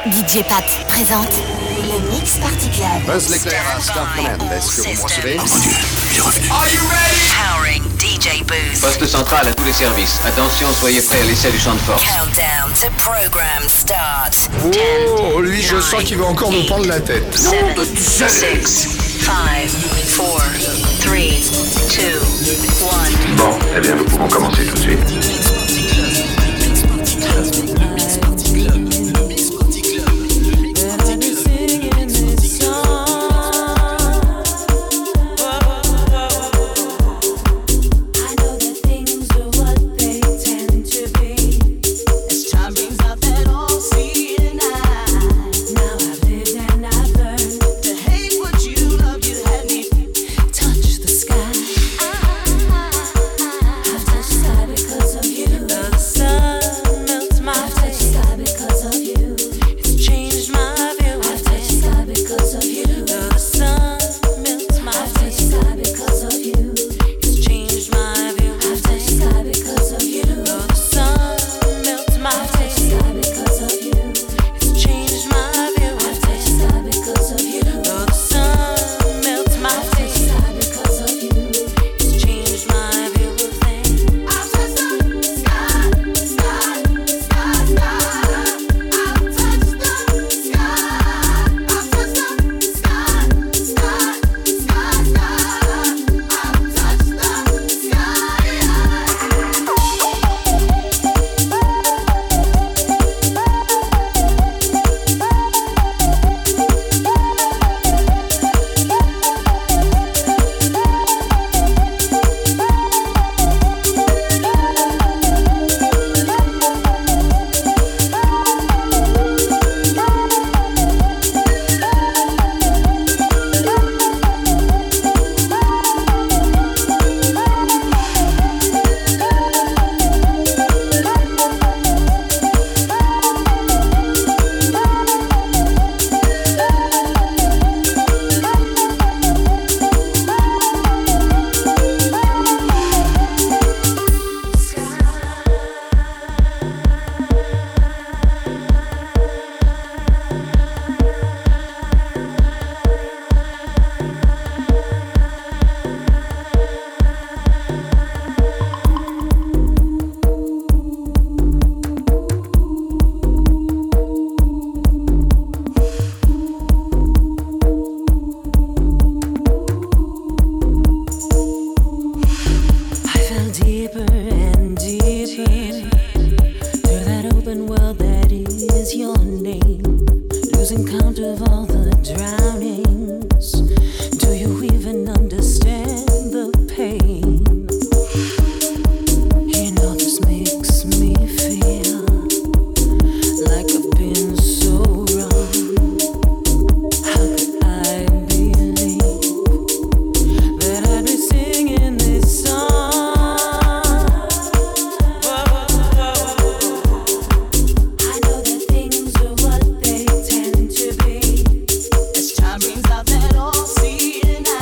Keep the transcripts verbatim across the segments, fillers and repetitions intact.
D J Pat présente le Mix Party Club. Buzz l'éclair à Star Command. Est-ce que vous me recevez? Oh mon Dieu, il est revenu. Are you ready? Powering D J Booth. Poste central à tous les services. Attention, soyez prêts à l'essai du champ de force. Countdown to program start. Oh, lui, je sens qu'il va encore nous prendre la tête. seven, six, five, four, three, two, one. Bon, eh bien, nous pouvons commencer tout de suite. Brings out that old sea and I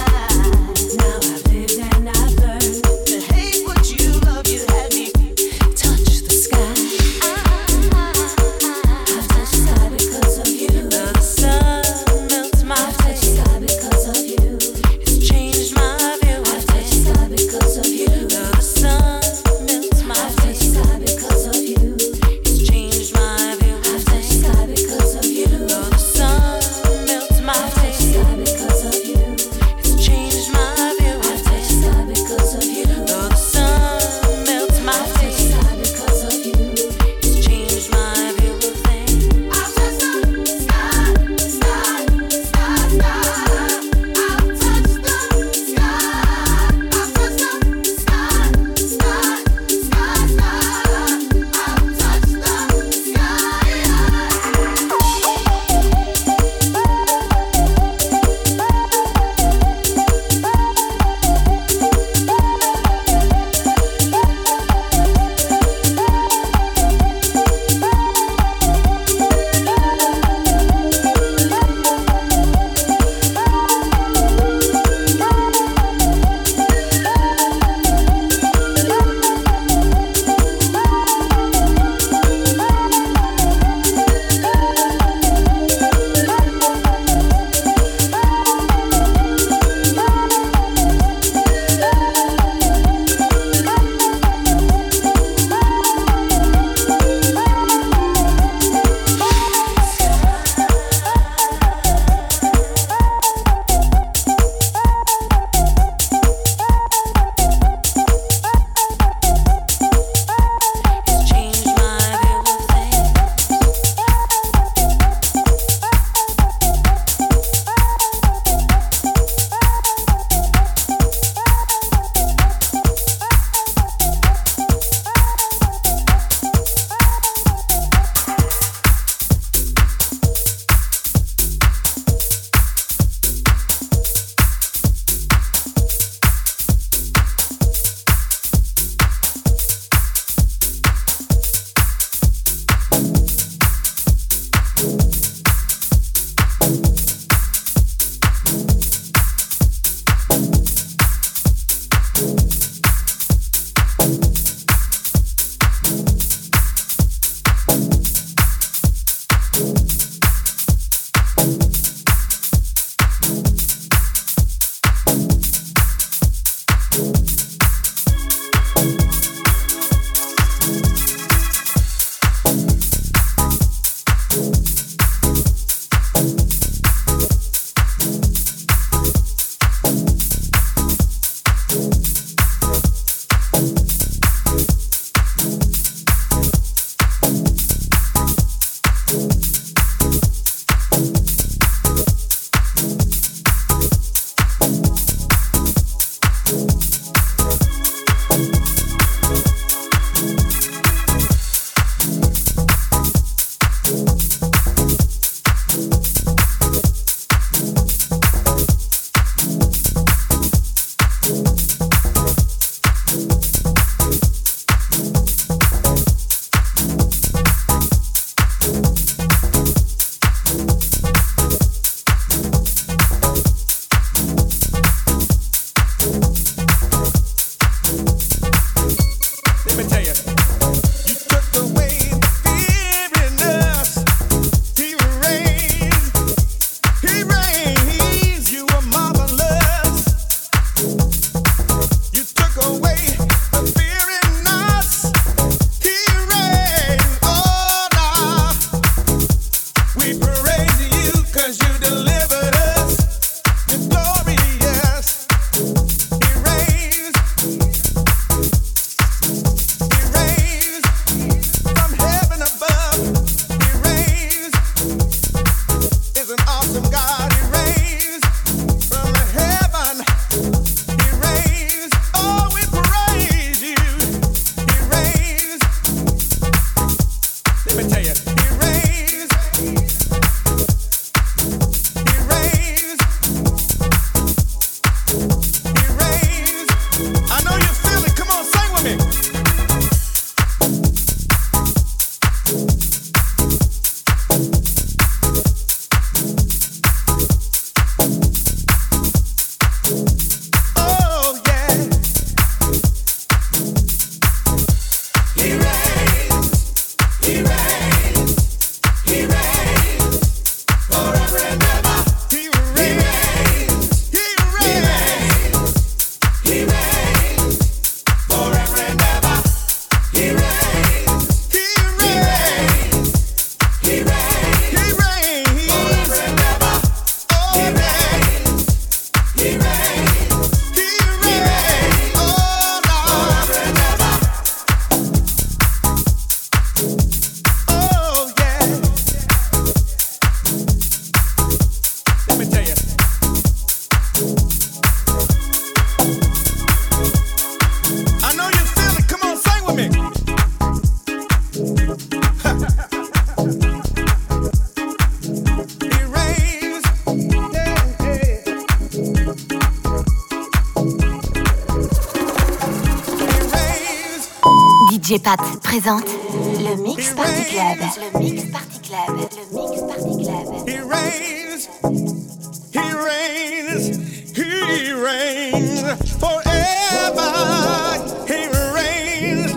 D J Pat présente le Mix Party Club. Le Mix Party Club. Le Mix Party Club. He reigns, he reigns, he reigns forever. He reigns.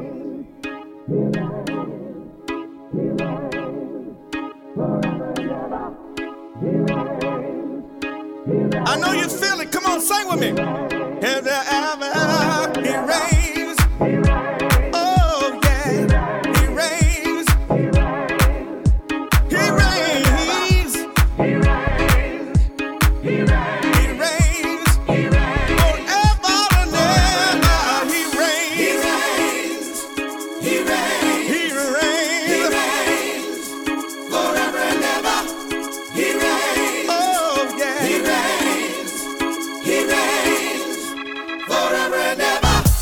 I know you feel it. Come on, sing with me. Ever, ever, he reigns. Oh yeah, he reigns. He reigns. He reigns. He reigns. Forever and ever. He reigns. He reigns. He reigns. Forever and ever. He reigns. Oh yeah. He reigns. He reigns. Forever and ever.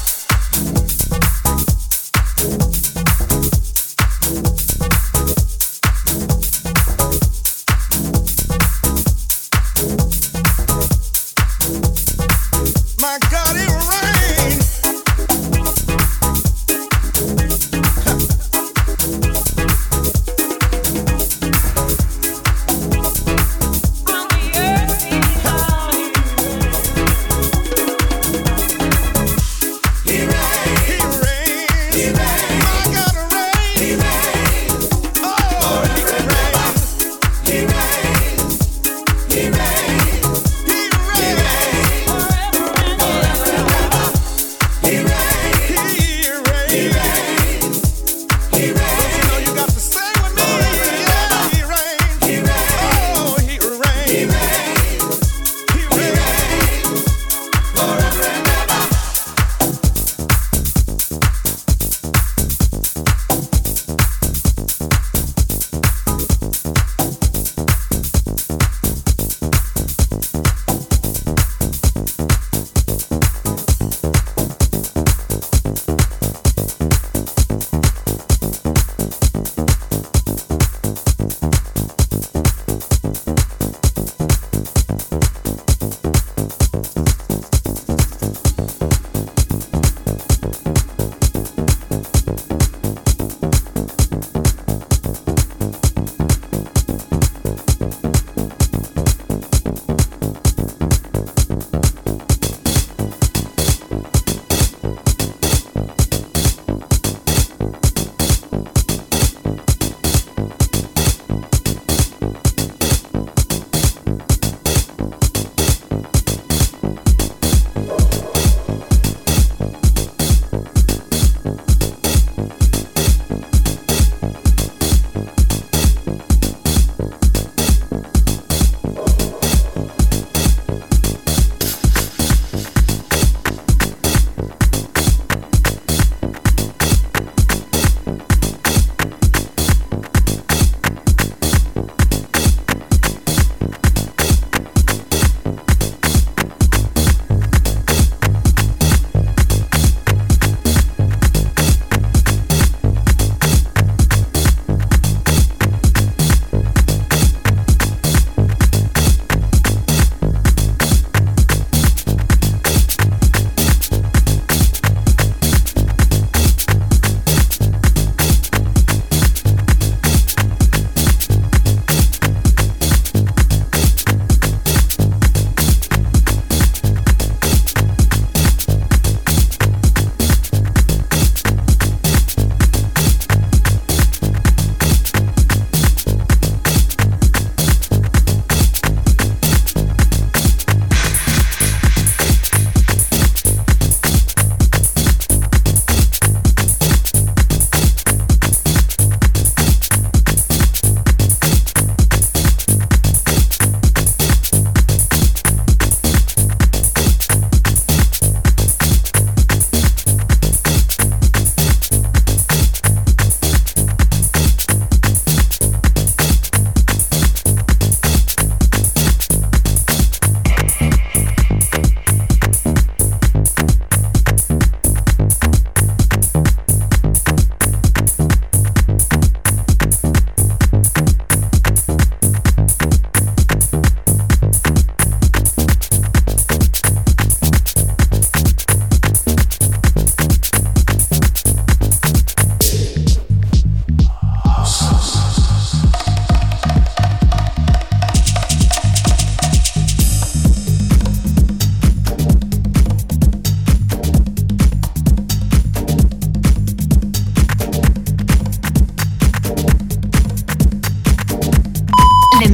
My God, it rains. He reigns. He reigns. He reigns. My God, it rains. He reigns. Oh, he reigns. He reigns. He reigns. He reigns. He reigns. He reigns. He reigns. You know you got to sing with me. Yeah, he reigns. He reigns. Oh, he reigns. He reigns. He reigns. Forever and ever.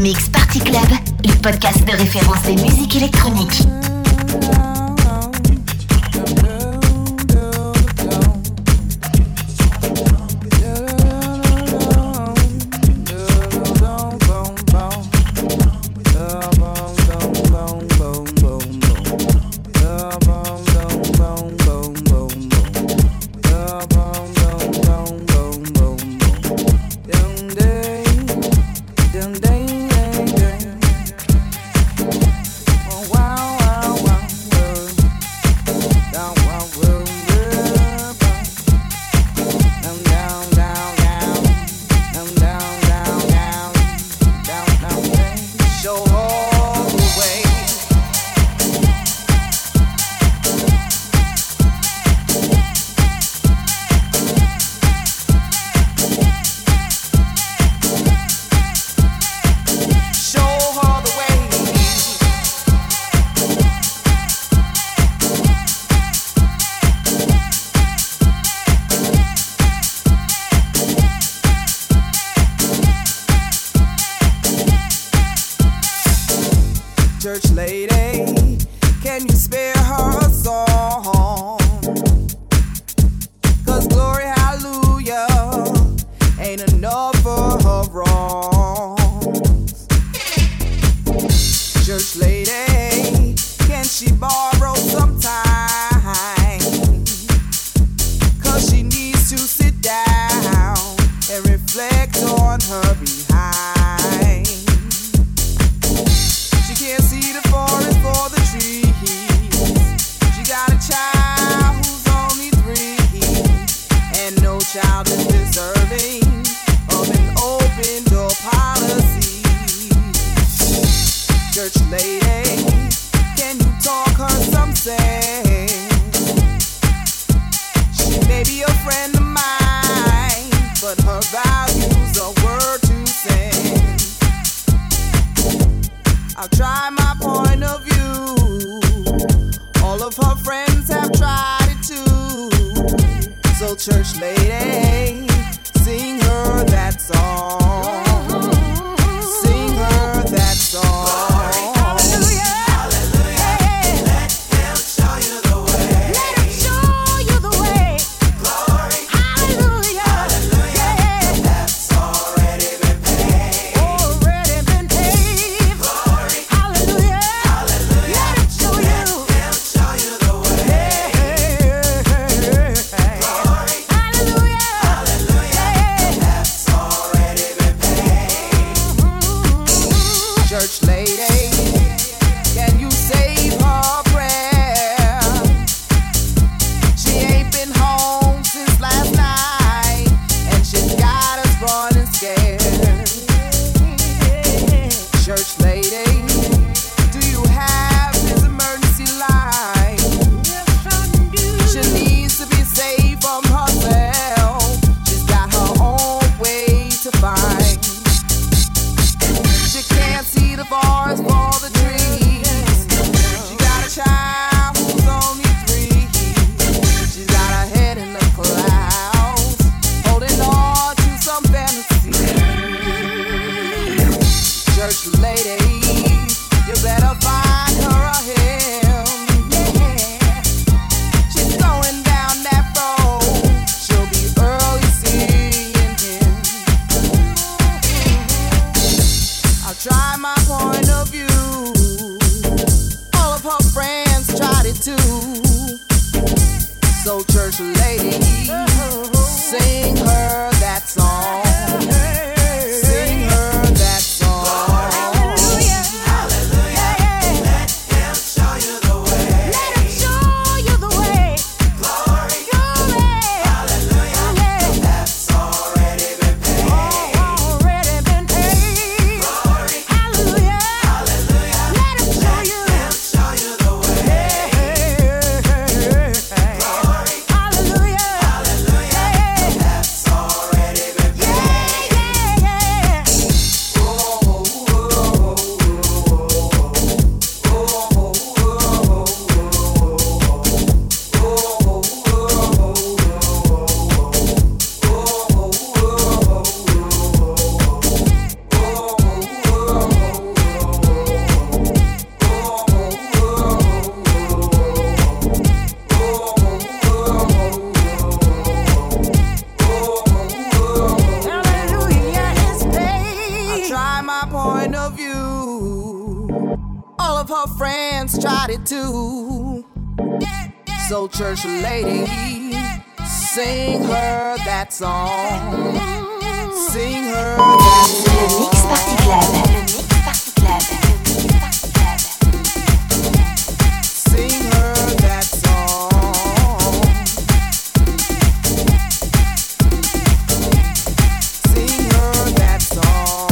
Mix Party Club, le podcast de référence des musiques électroniques. Church lady, can you spare her a song? 'Cause glory, hallelujah, ain't enough for her wrongs. Church lady, can she borrow some time? 'Cause she needs to sit down and reflect on her behind. Can't see the forest for the trees. She got a child who's only three, and no child is deserving of an open door policy. Church lady, can you talk her some sense? She may be a friend of mine, but her values are word to send. I'll try my point of view. All of her friends have tried it too. So church lady, sing her that song. Sing her that song. Hallelujah. my point of view. All of her friends tried it too. So church lady, sing her that song. Sing her that song. Le Mix Party Club. Le Mix Party Club. Sing her that song. Sing her that song.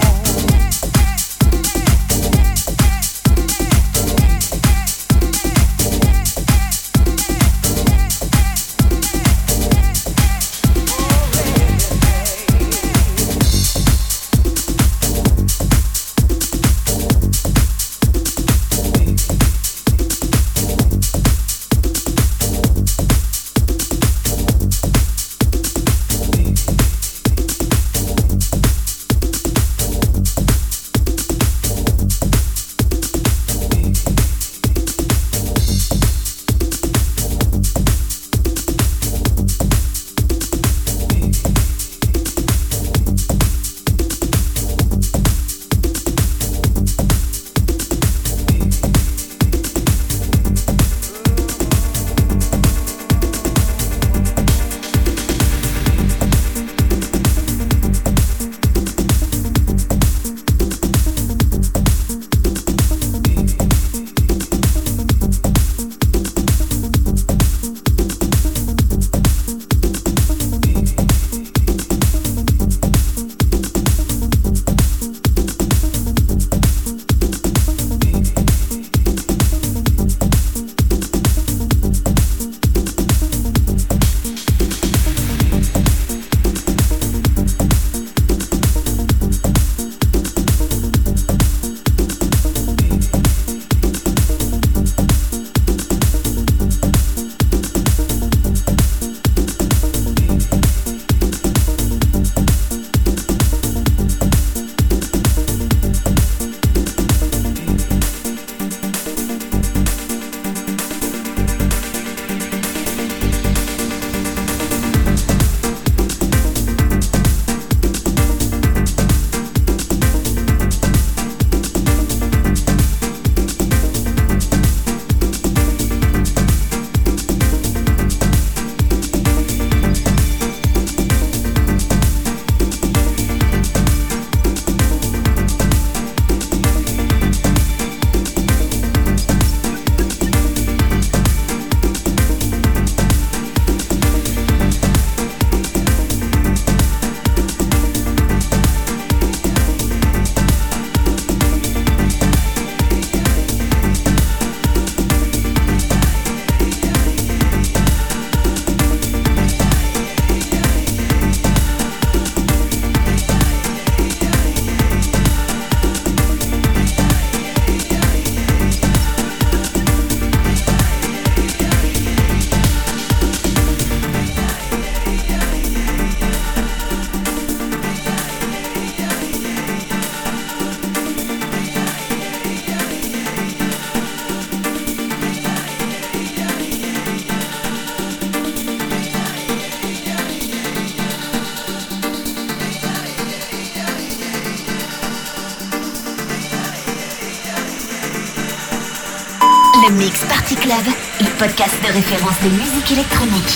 Le Mix Party Club, le podcast de référence de musique électronique.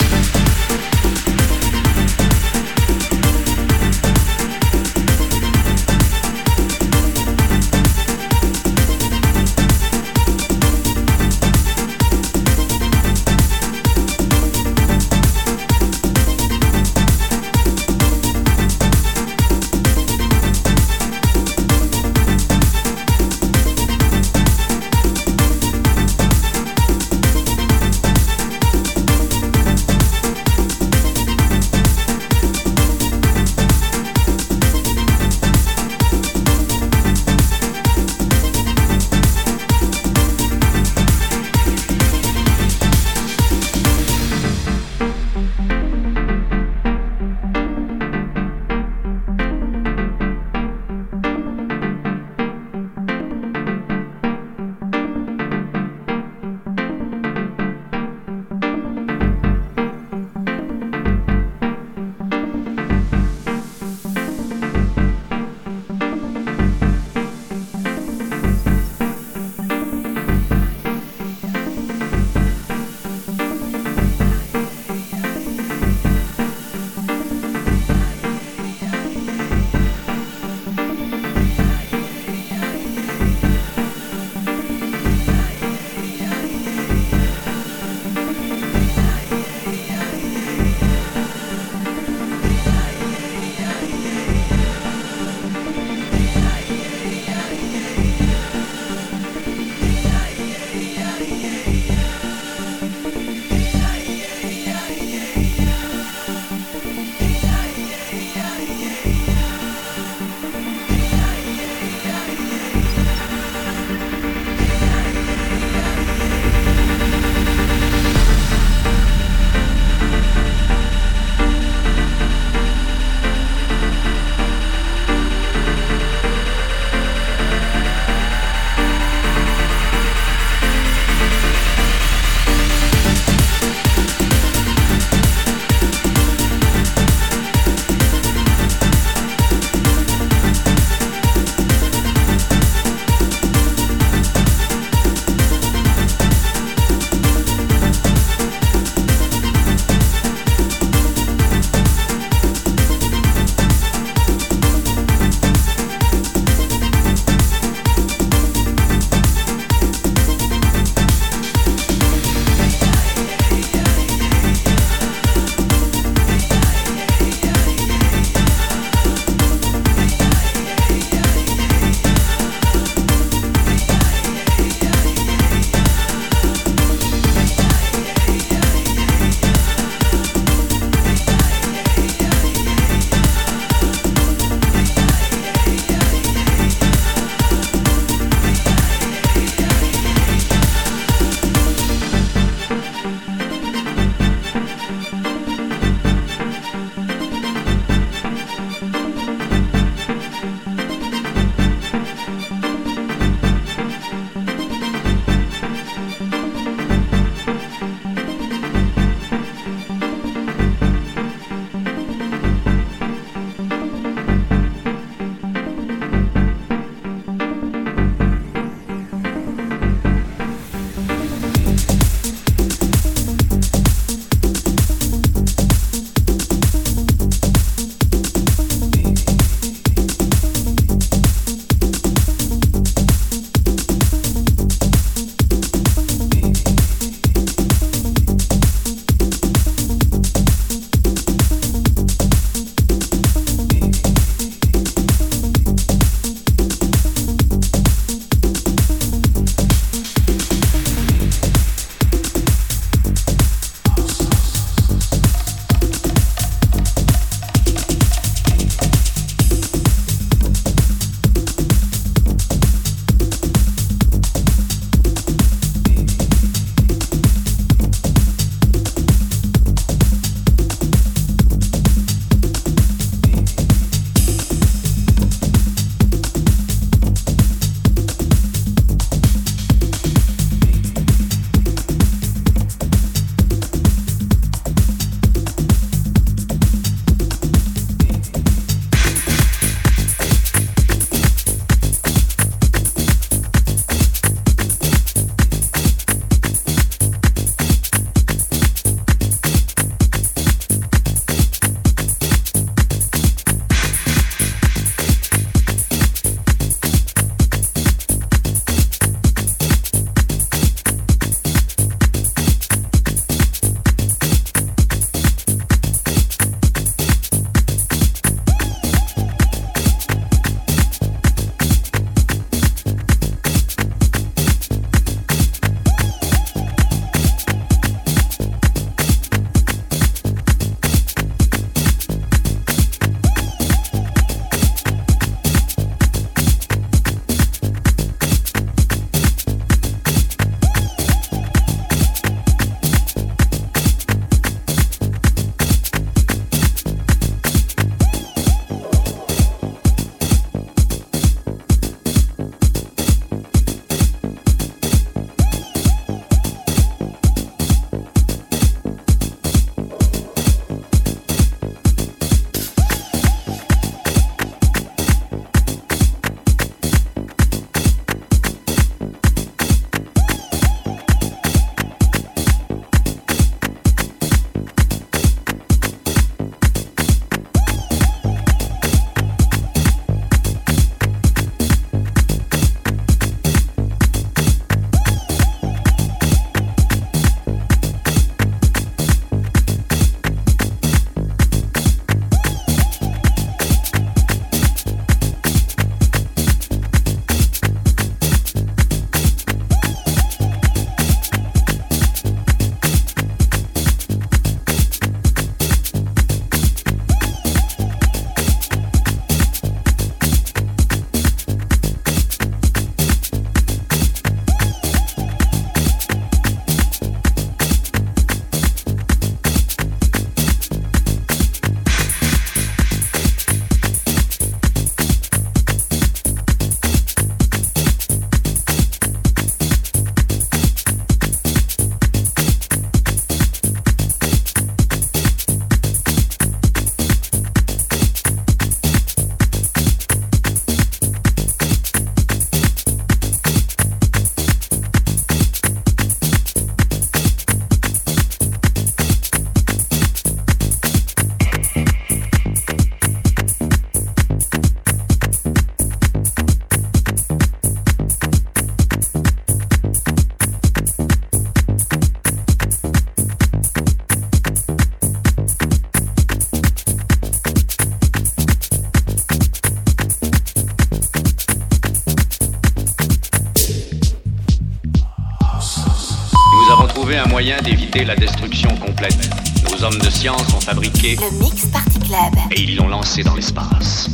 trouvé un moyen d'éviter la destruction complète. Nos hommes de science ont fabriqué... Le Mix Party Club. Et ils l'ont lancé dans l'espace.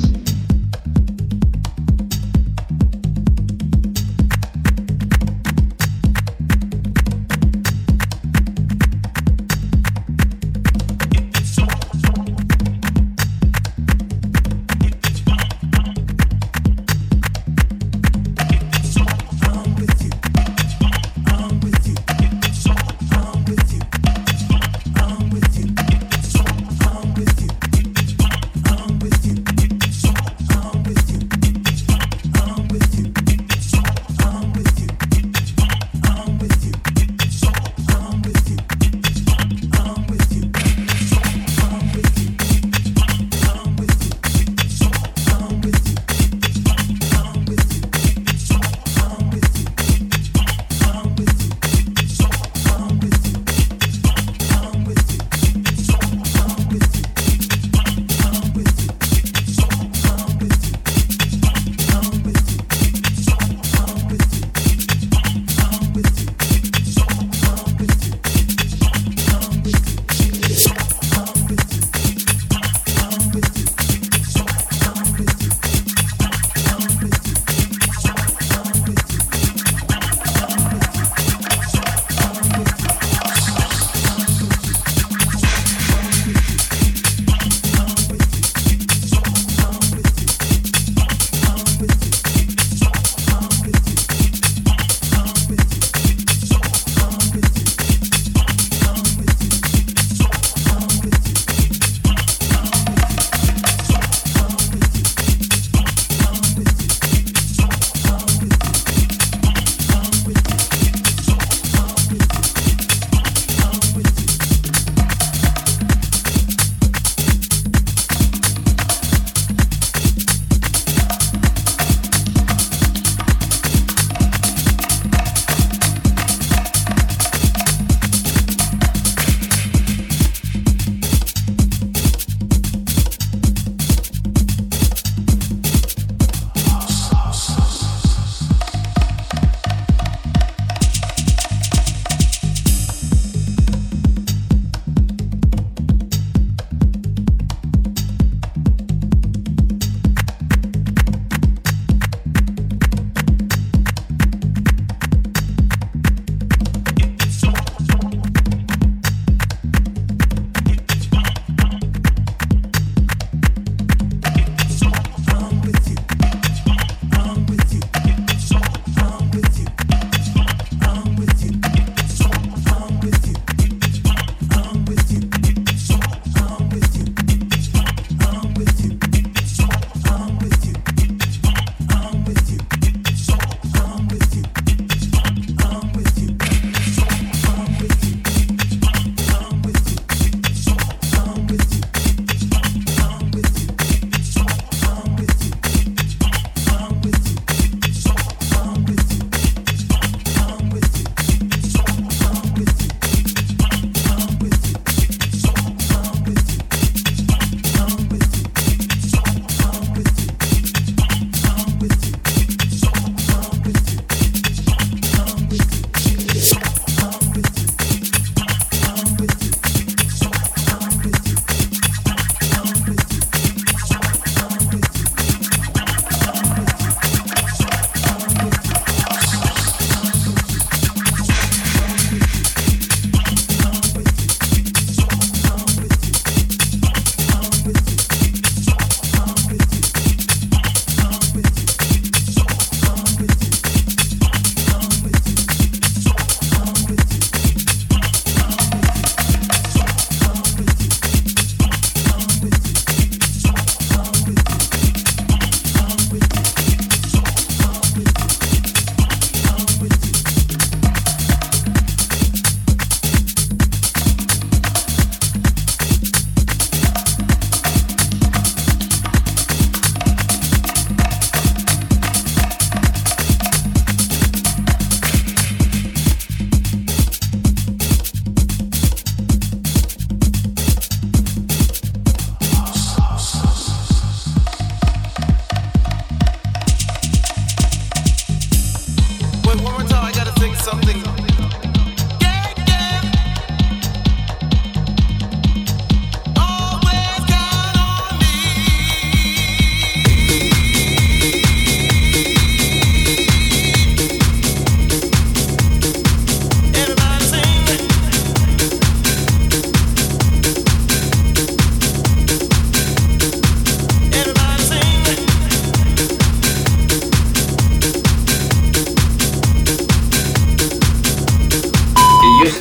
With you.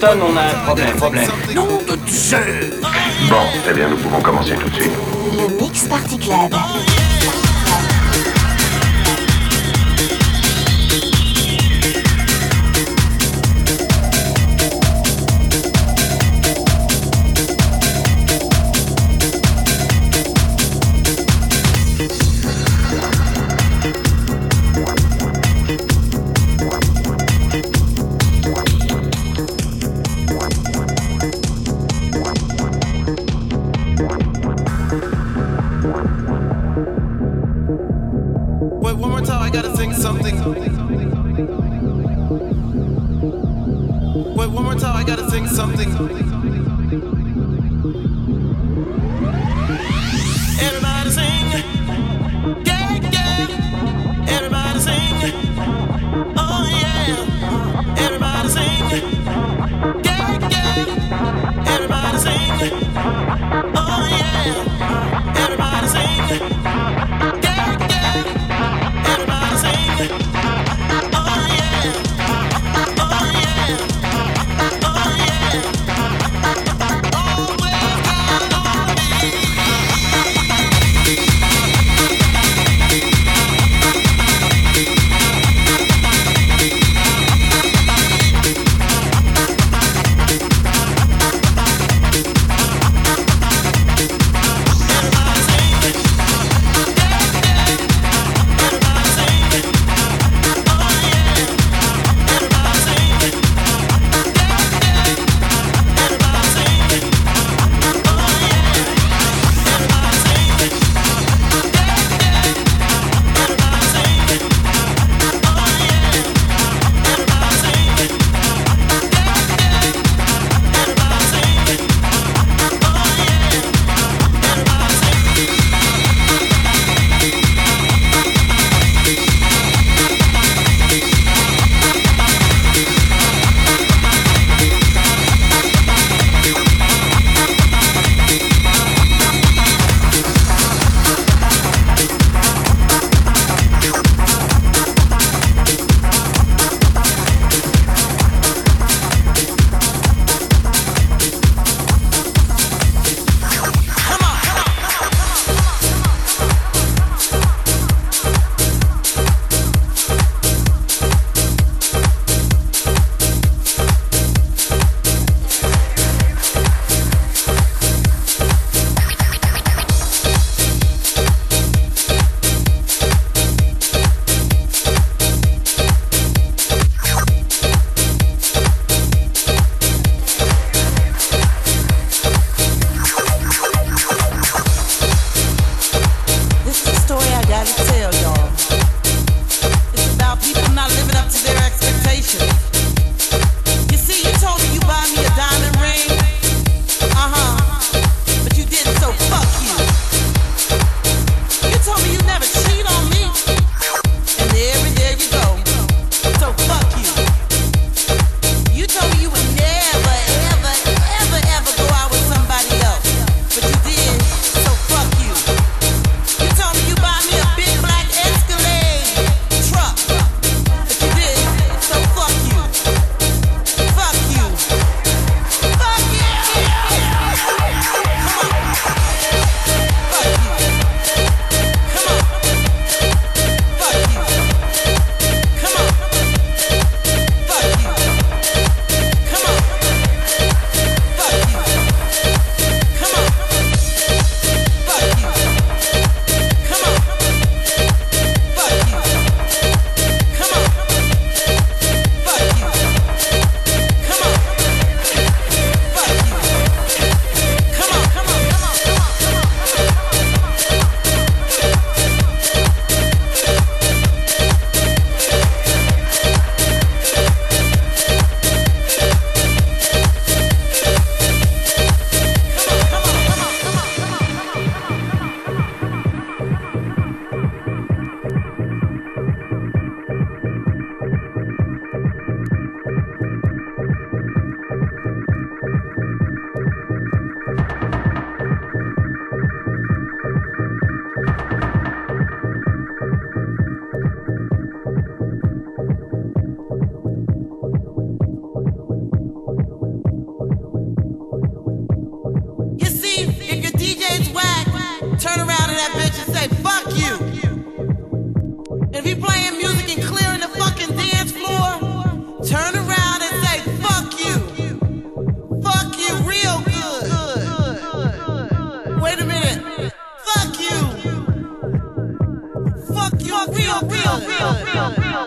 Houston, on a un problème, problème. Nom de Dieu! Bon, eh bien, nous pouvons commencer tout de suite. Le Mix Party Club. Everybody sing.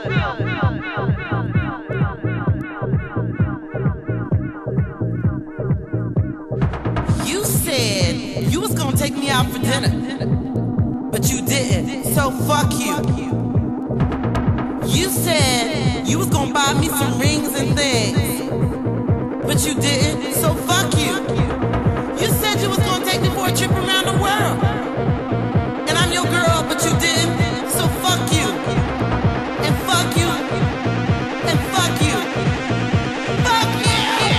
You said you was gonna take me out for dinner, but you didn't, so fuck you. You said you was gonna buy me some rings and things, but you didn't, so fuck you. You said you was gonna take me for a trip around the world, and I'm your girl, but you didn't, so fuck you. And fuck you. And fuck you. Fuck you.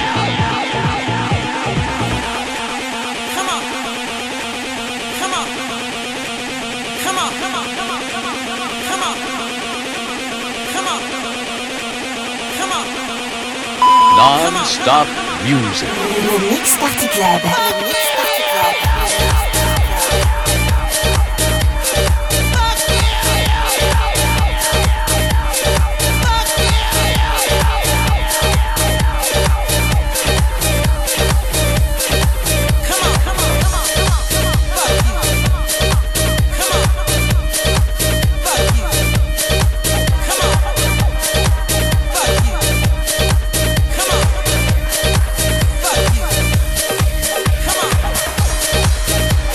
Come on. Come on. Come on. Come on. Come on. Come on. Come on. Come on. Come on. Non-stop music. Le Mix Party Club. Le Mix Party Club. Come on.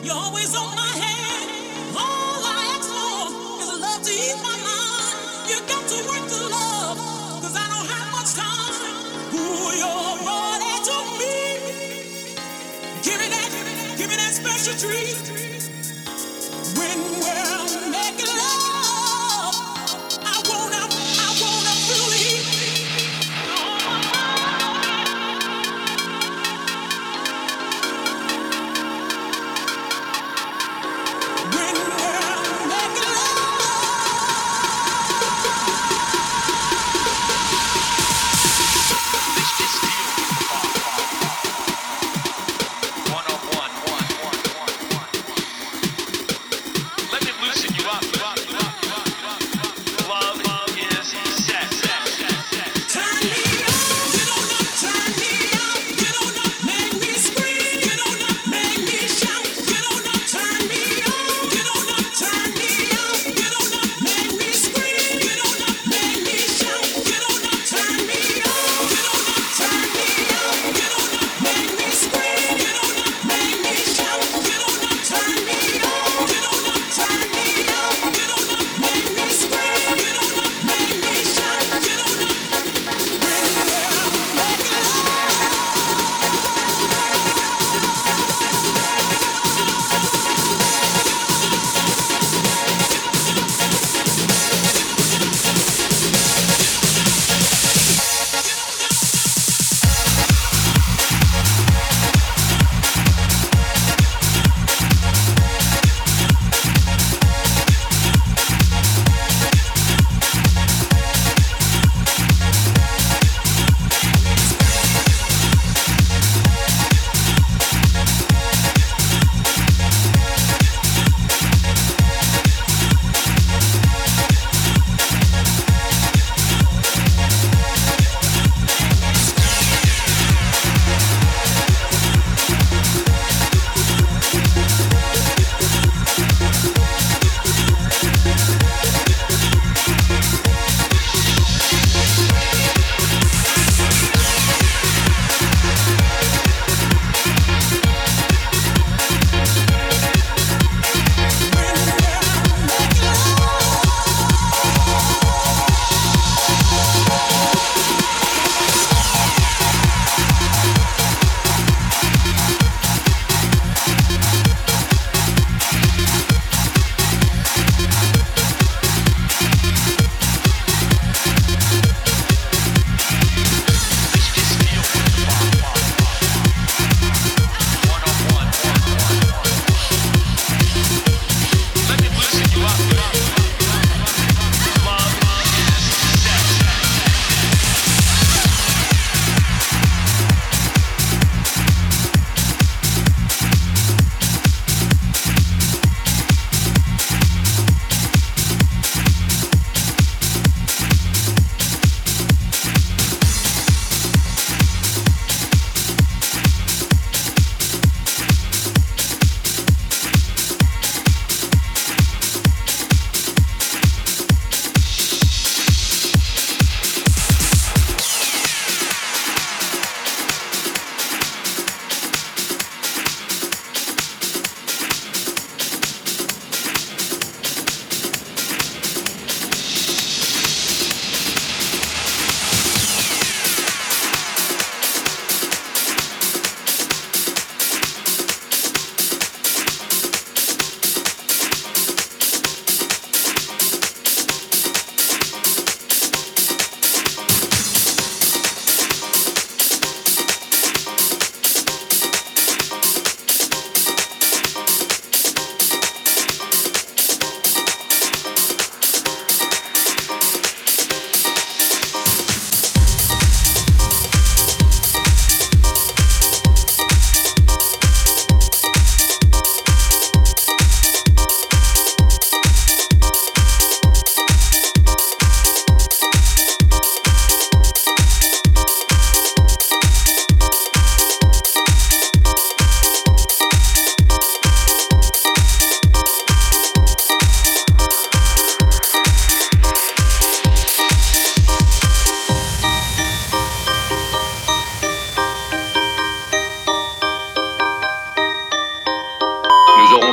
You're always on my hand. All I ask for is love to ease my mind. You got to work the love, cause I don't have much time. Ooh, your body to me. Give me that, give me that special treat. When we're making love, I wanna, I wanna feel the heat. When we're making love. Let me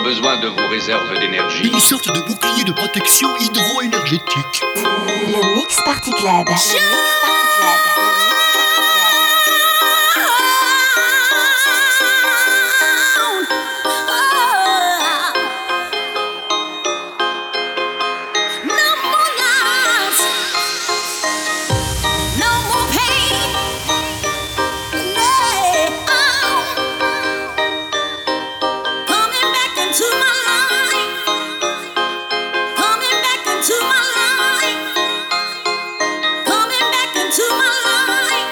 besoin de vos réserves d'énergie. Une sorte de bouclier de protection hydro-énergétique. Le Mix Party Club. Le Mix Party Club. To my life.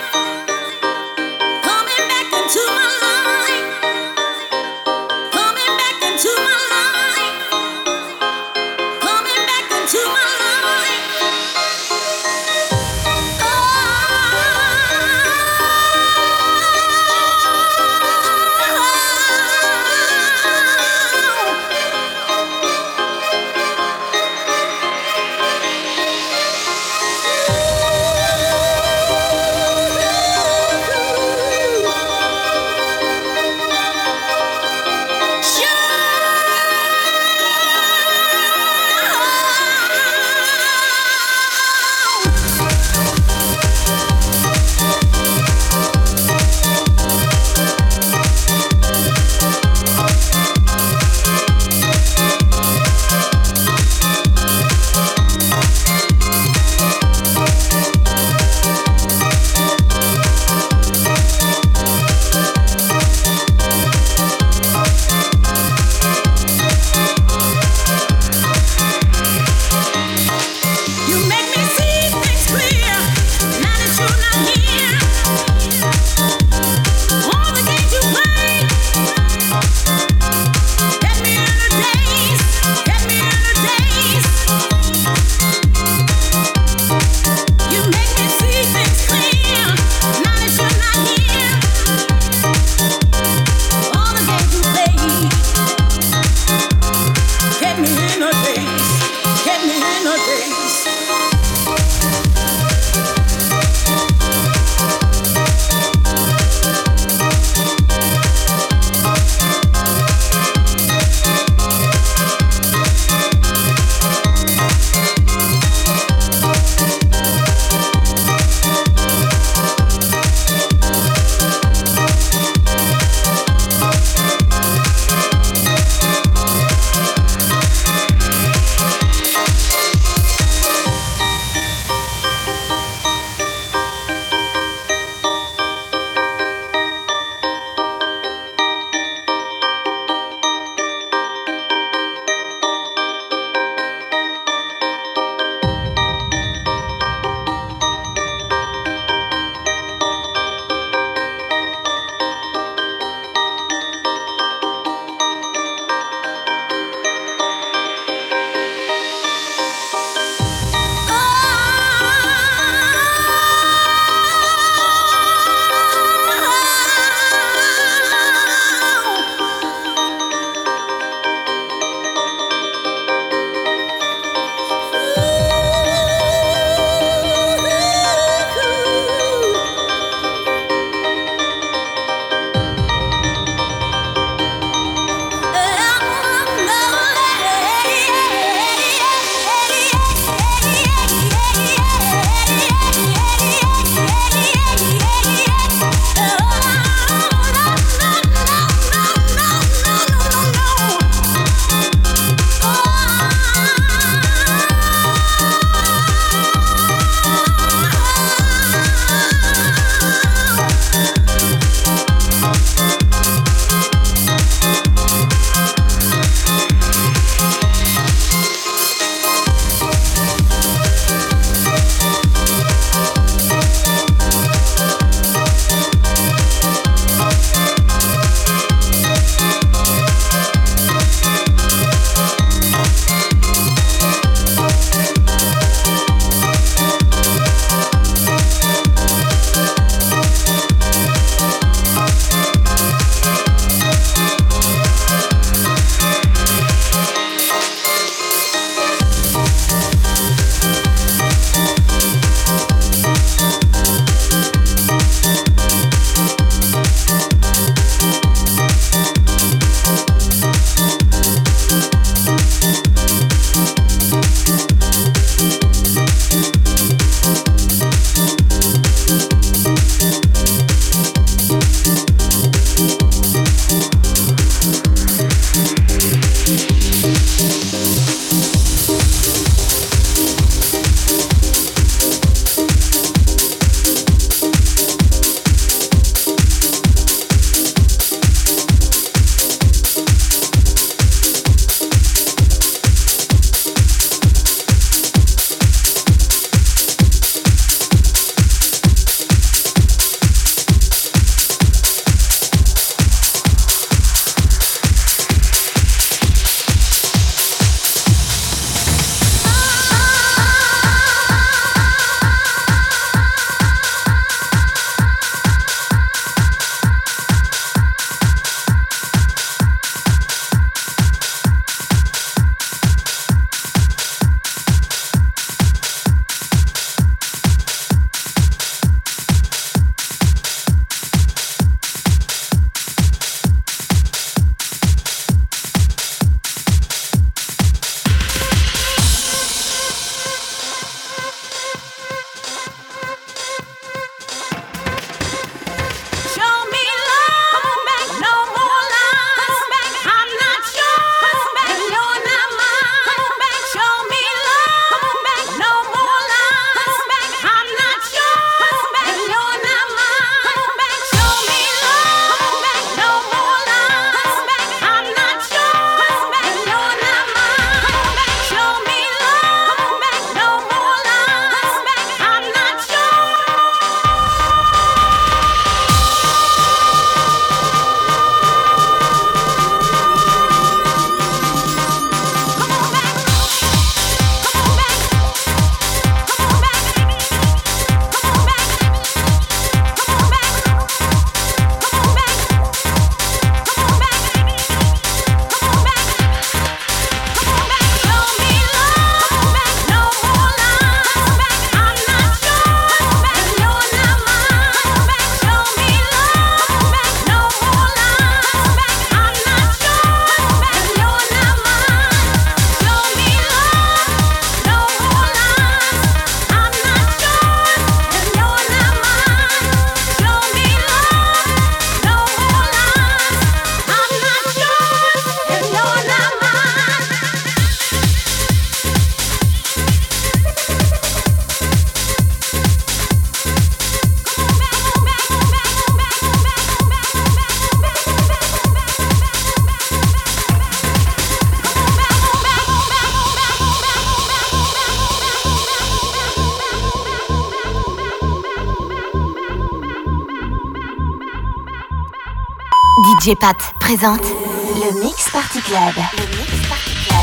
D J Pat présente le Mix Party Club. Le Mix Party Club.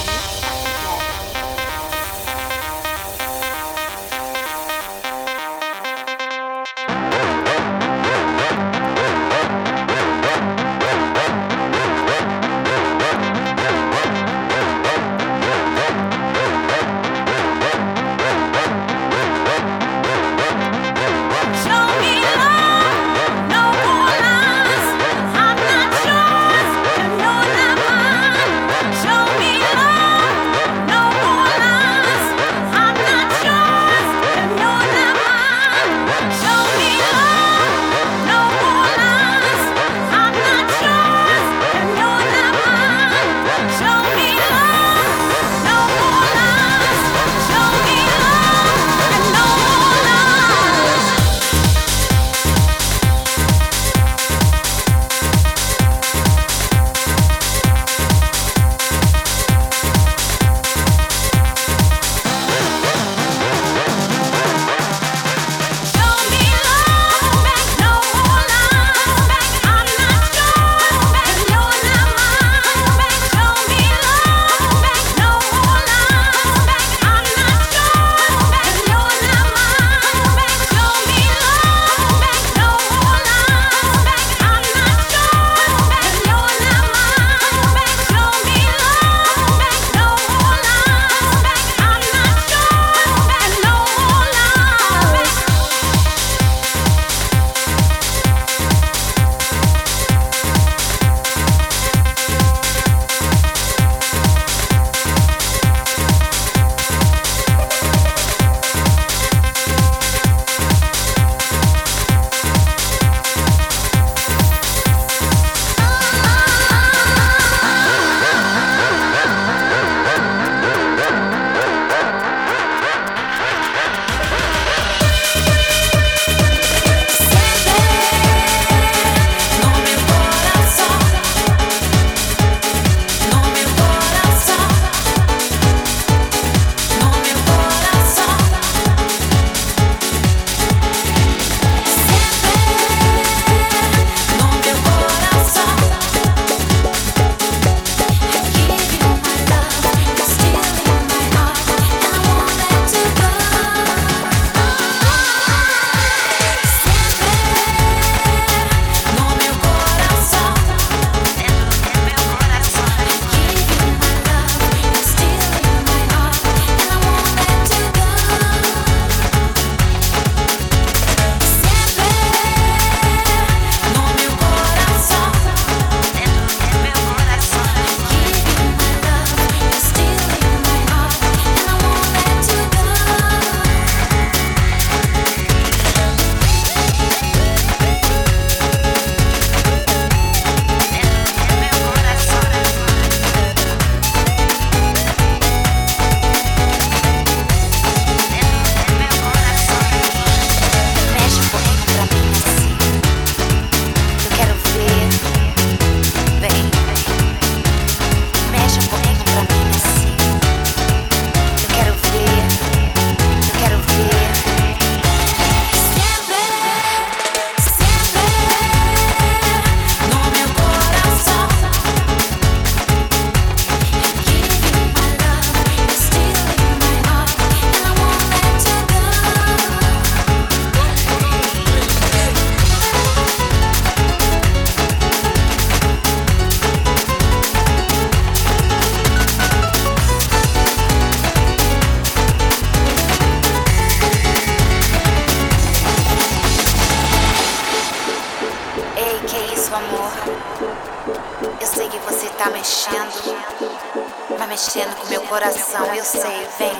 Mexendo com meu coração, eu sei, vem.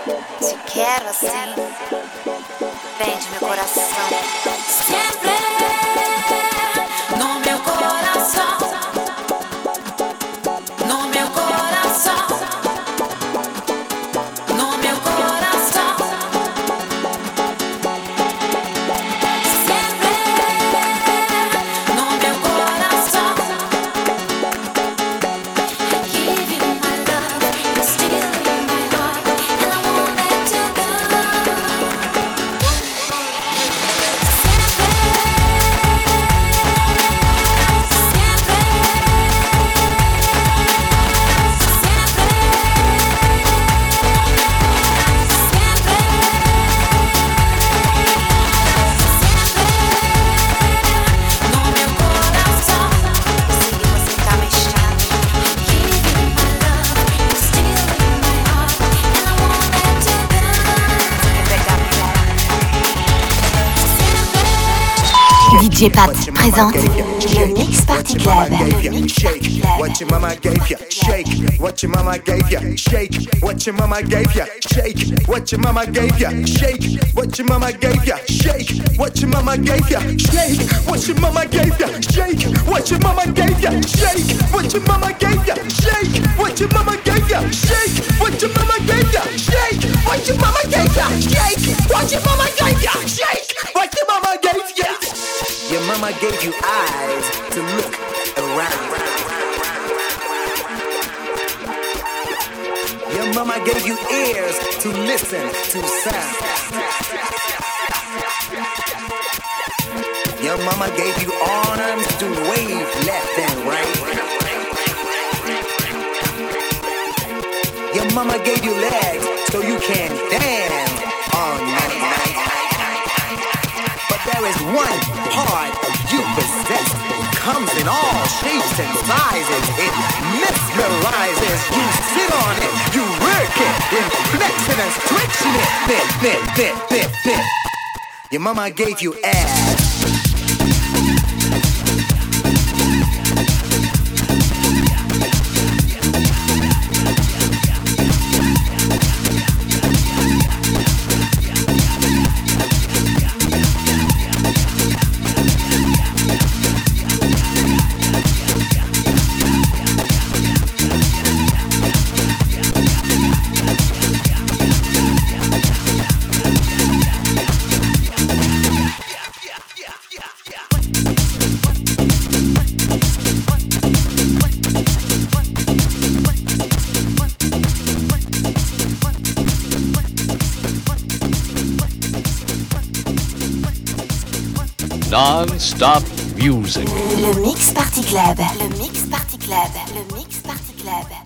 Te quero assim, vem de meu coração. Sempre no meu coração, no meu coração, no meu coração. Sempre no meu coração. I give you my love, you're still in my heart, and I won't let you go. Sempre D J Pat présente le Mix Party Club. Le Mix Party Club. What your mama gave ya, shake. What your mama gave ya, shake. What your mama gave ya, shake. What your mama gave ya, shake. What your mama gave ya, shake. What your mama gave ya, shake. What your mama gave ya, shake. What your mama gave ya, shake. What your mama gave ya, shake. What your mama gave ya, shake. What your mama gave ya, shake. What your mama gave ya, shake. What your mama gave ya, shake. What your mama gave ya. Your mama gave you eyes to look around. Your mama gave you ears to listen to sound. Your mama gave you arms to wave left and right. Your mama gave you legs so you can dance all night. But there is one part of you possessed. Comes in all shapes and sizes. It mesmerizes. You sit on it, you work it, in flexing and stretching it. Fit, fit, fit, fit, fit. Your mama gave you ass. Non-stop music. Le Mix Party Club. Le Mix Party Club. Le Mix Party Club.